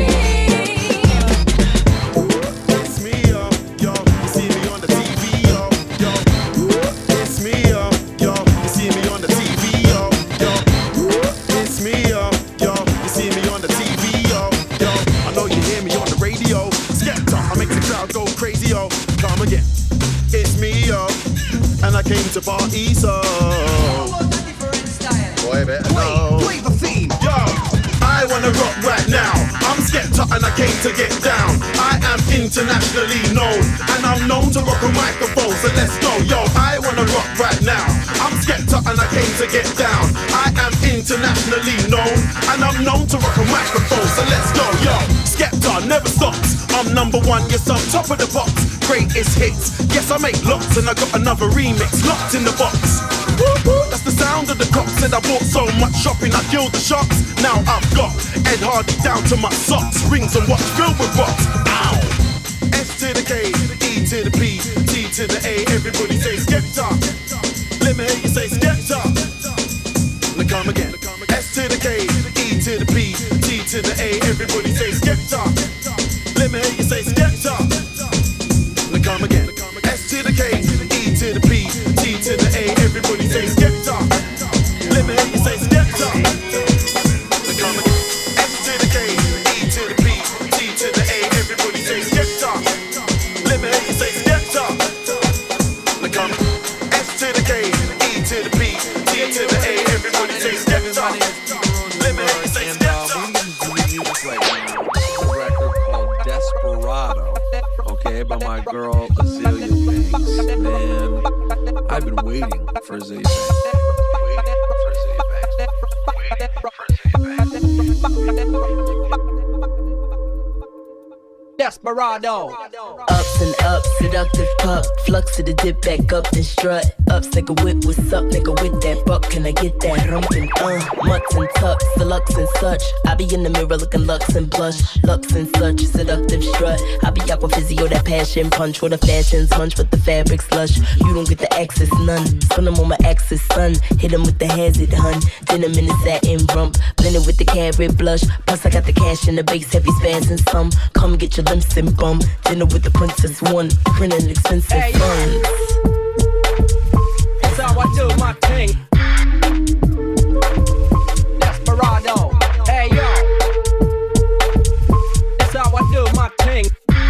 thing. It's me, yo, yo. You see me on the T V, yo, yo. It's me, yo, yo. You see me on the T V, yo, yo. It's me, yo, yo. You see me on the T V, yo, yo. I know you hear me on the radio. Skepta, I make the crowd go crazy, yo. Come again. It's me, yo. And I came to party, so. Boy, better know. Play the theme, yo. I wanna rock right now. I'm Skepta and I came to get down. I am internationally known, and I'm known to rock a microphone. So let's go, yo. I wanna rock right now. I'm Skepta and I came to get down. I am internationally known, and I'm known to rock a microphone. So let's go, yo. Skepta never stops. I'm number one, yes, I'm top of the pops. Greatest hits, yes, I make lots, and I got another remix locked in the box. Woo-hoo, that's the sound of the cops. Said I bought so much shopping, I killed the shops. Now I've got Ed Hardy down to my socks, rings and watch filled with rocks. Ow! S to the K, E to the P, T to the A. Everybody say Skepta. Let me hear you say Skepta. Now come again. S to the K, E to the P, T to the A. Everybody say Skepta. Let me hear you say Skepta. Now come again. S to the K, E to the P, T to the A. Everybody say Skepta. Let me hear you say Skepta. Now come again. S to the K, E to the P, T to the A. Everybody say Skepta. Let me hear you say Skepta. Now come again. S to the K, E to the P, T to the A. Everybody say Skepta. Let me hear you say Skepta. Desperado, okay, by my girl Azealia Banks. Man, I've been waiting for Azealia Banks. Waiting for Azealia Banks. Waiting for Azealia Banks. Desperado. Ups and ups, seductive pup. Flux to the dip back up and strut. Ups, nigga, whip, what's up, nigga, with that buck? Can I get that rumpin'? Uh, mutts and tucks, deluxe and such. I be in the mirror looking lux and blush. Lux and such, seductive strut. I be aqua physio, that passion punch. With the fashions munch, with the fabric slush. You don't get the access, none. Spin them on my axis, son. Hit him with the hazard, hun. Then I'm in the satin rump. Blended with the carrot blush. Plus I got the cash in the base, heavy spans and some. Come get your limbs and bum. Dinner with the princess one. Printing expensive hey, funds. That's how I do my thing. Desperado. Hey yo. That's how I do my thing.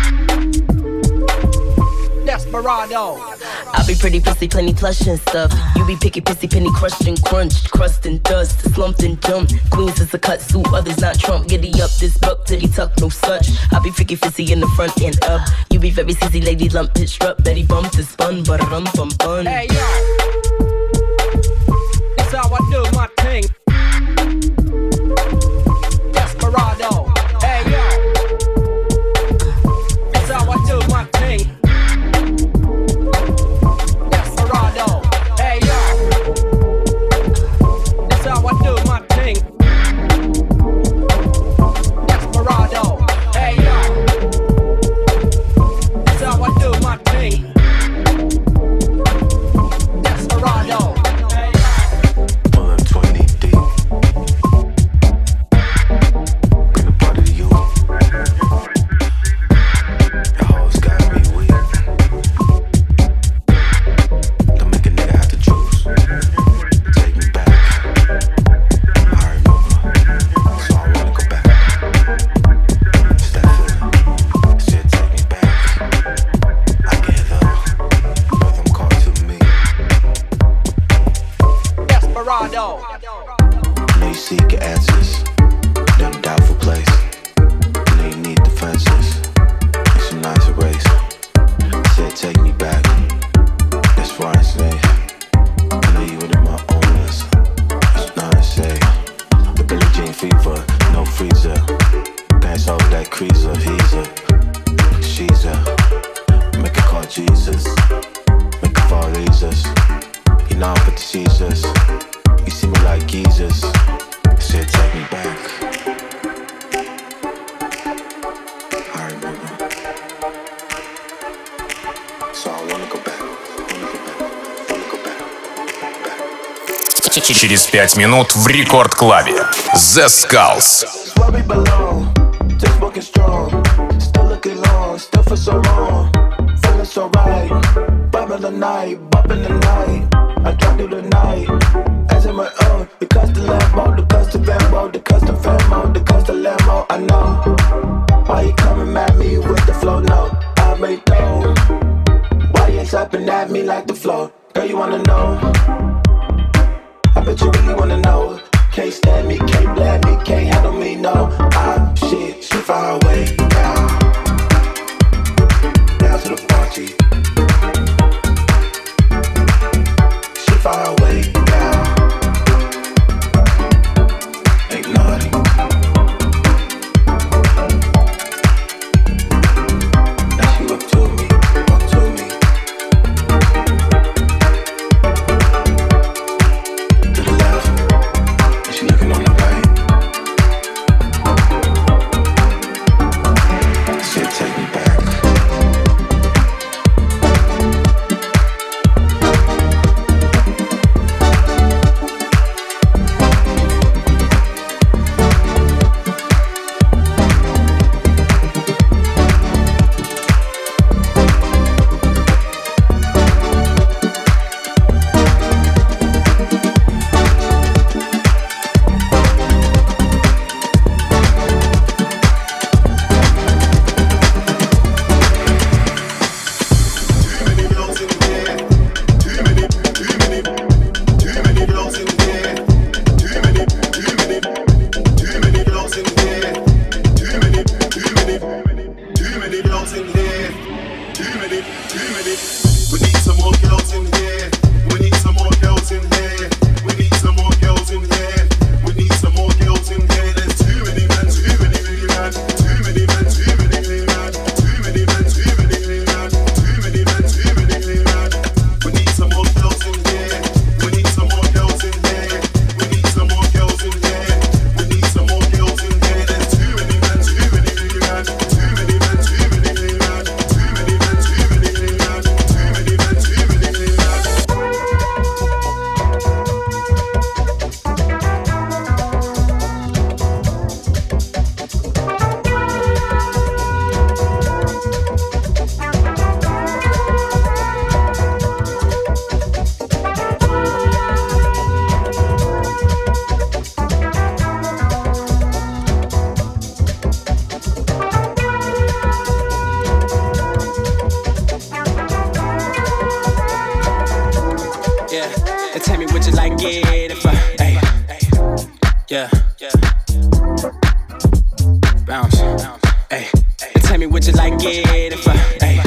Desperado. I be pretty pussy, plenty plush and stuff. You be picky, pissy, penny, crushed and crunched, crust and dust, slumped and jumped. Queens is a cut suit, others not Trump. Giddy up this buck, titty tuck, no such. I be picky, fizzy in the front and up. You be very sissy, lady lump, pitched up, Betty bumped and spun, but rum bum bun. Hey yo, that's how I do my thing. Desperado. Hey yo, that's how I do my thing. Hey yo, that's how I do my thing. Desperado. Hey yo, that's how I do my thing. Desperado. Pull up twenty deep. Bring the party to you. Your hoes got me weak. Don't make a nigga have to choose. Take me back. I remember, so I wanna go back. It's that feeling. Shit, take me back. I get the rhythm call to me. Desperado. Know you seek your answers. They're in a doubtful place. Know you need defenses. It's a nice erase. Said take me back. That's why I say I know you were in my own list. It's not to say the Billie Jean fever, no freezer. Dance over that creaser, he's a, she's a. Make her call Jesus, make her fall Jesus. You know I'm with the Jesus. You see me like Jesus. Said take me back. I remember. So I wanna go back. Через пять минут в Рекорд-клабе The Skulls. It's where we belong. Just walking strong. Still looking long. Still for so long. Feeling so right. Bumping the night. Bumping the night. I drive through the night. As in my own. The custom Lambo. The custom Lambo. The custom Famo. The custom Lambo. I know. Why you coming at me with the flow? No. I made dough. Why you tapping at me like the flow? Girl, you wanna know? I bet you really wanna know. Can't stand me, can't blame me, can't handle me, no. I'm shit, she far away now. Down to the party. She far away now. Ain't naughty. Now she up to me, up to me. To the left, and she looking on it if I, hey, yeah, bounce, hey, and tell me would you like it if I, hey,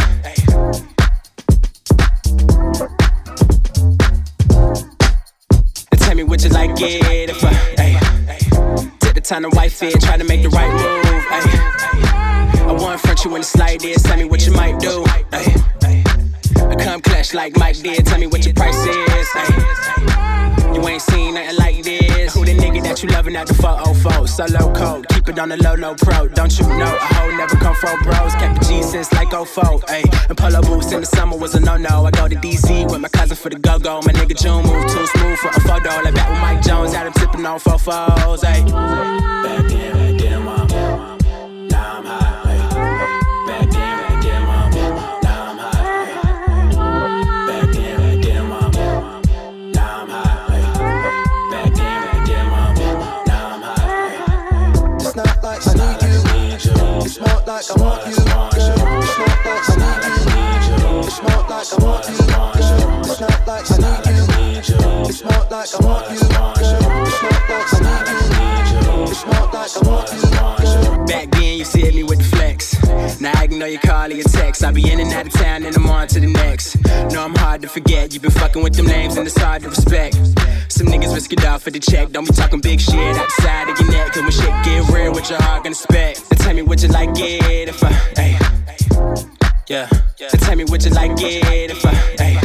and tell me would you like it if I, hey, take the time to wife it, try to make the right move, hey, I won't front you in the slightest, tell me what you might do, hey, I come clutch like Mike did, tell me what your price is, hey. You ain't seen nothing like this. Who the nigga that you loving at the four oh four? Solo code, keep it on the low, low pro. Don't you know a hoe never come from bros? Kept the G since like oh four, ayy. And polo boots in the summer was a no-no. I go to D C with my cousin for the go-go. My nigga June moved too smooth for a photo. Like back with Mike Jones, had him tipping on four fours, ayy. Back then, back then, mom. Now I'm high, ayy. Back then, back then, mom. Now I'm high, ayy. Back then, back then, mom. Now I'm high. It's not like I need you. It's more like I want you. It's not like I need you. It's more like I want you. It's not like I need you. It's more like I want you. It's not like I need you. It's more like I want you. Back then you see me with the flex. Now I can know you call or your text. I be in and out of town and I'm on to the next. No, I'm hard to forget. You been fucking with them names and it's hard to respect. Some niggas risk it all for the check. Don't be talking big shit outside of your neck. Cause when shit get real, what your heart gonna expect? So tell me would you like it if I, hey, yeah. So tell me would you like it if I, hey.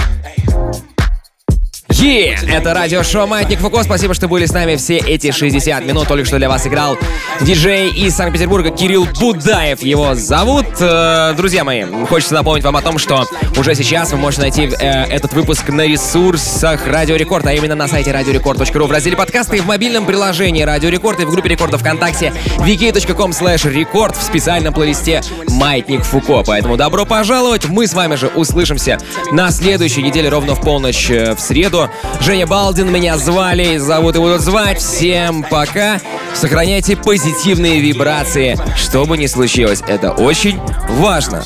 Yeah, это радиошоу «Маятник Фуко». Спасибо, что были с нами все эти шестьдесят минут. Только что для вас играл диджей из Санкт-Петербурга Кирилл Будаев. Его зовут. Друзья мои, хочется напомнить вам о том, что уже сейчас вы можете найти э, этот выпуск на ресурсах Радио Рекорд, а именно на сайте радиорекорд точка ру в разделе подкасты и в мобильном приложении Радио Рекорд и в группе Рекорда ВКонтакте ви кей точка ком слэш рекорд в специальном плейлисте «Маятник Фуко». Поэтому добро пожаловать. Мы с вами же услышимся на следующей неделе ровно в полночь в среду. Женя Балдин меня звали, зовут и будут звать. Всем пока. Сохраняйте позитивные вибрации, что бы ни случилось. Это очень важно.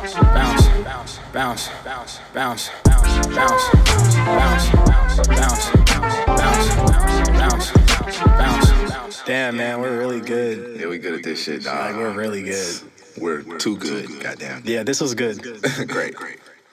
Damn, man, we're really good. Yeah, we good at this shit, dog. Like, we're really good. We're too good, goddamn. Yeah, this was good. Great, great.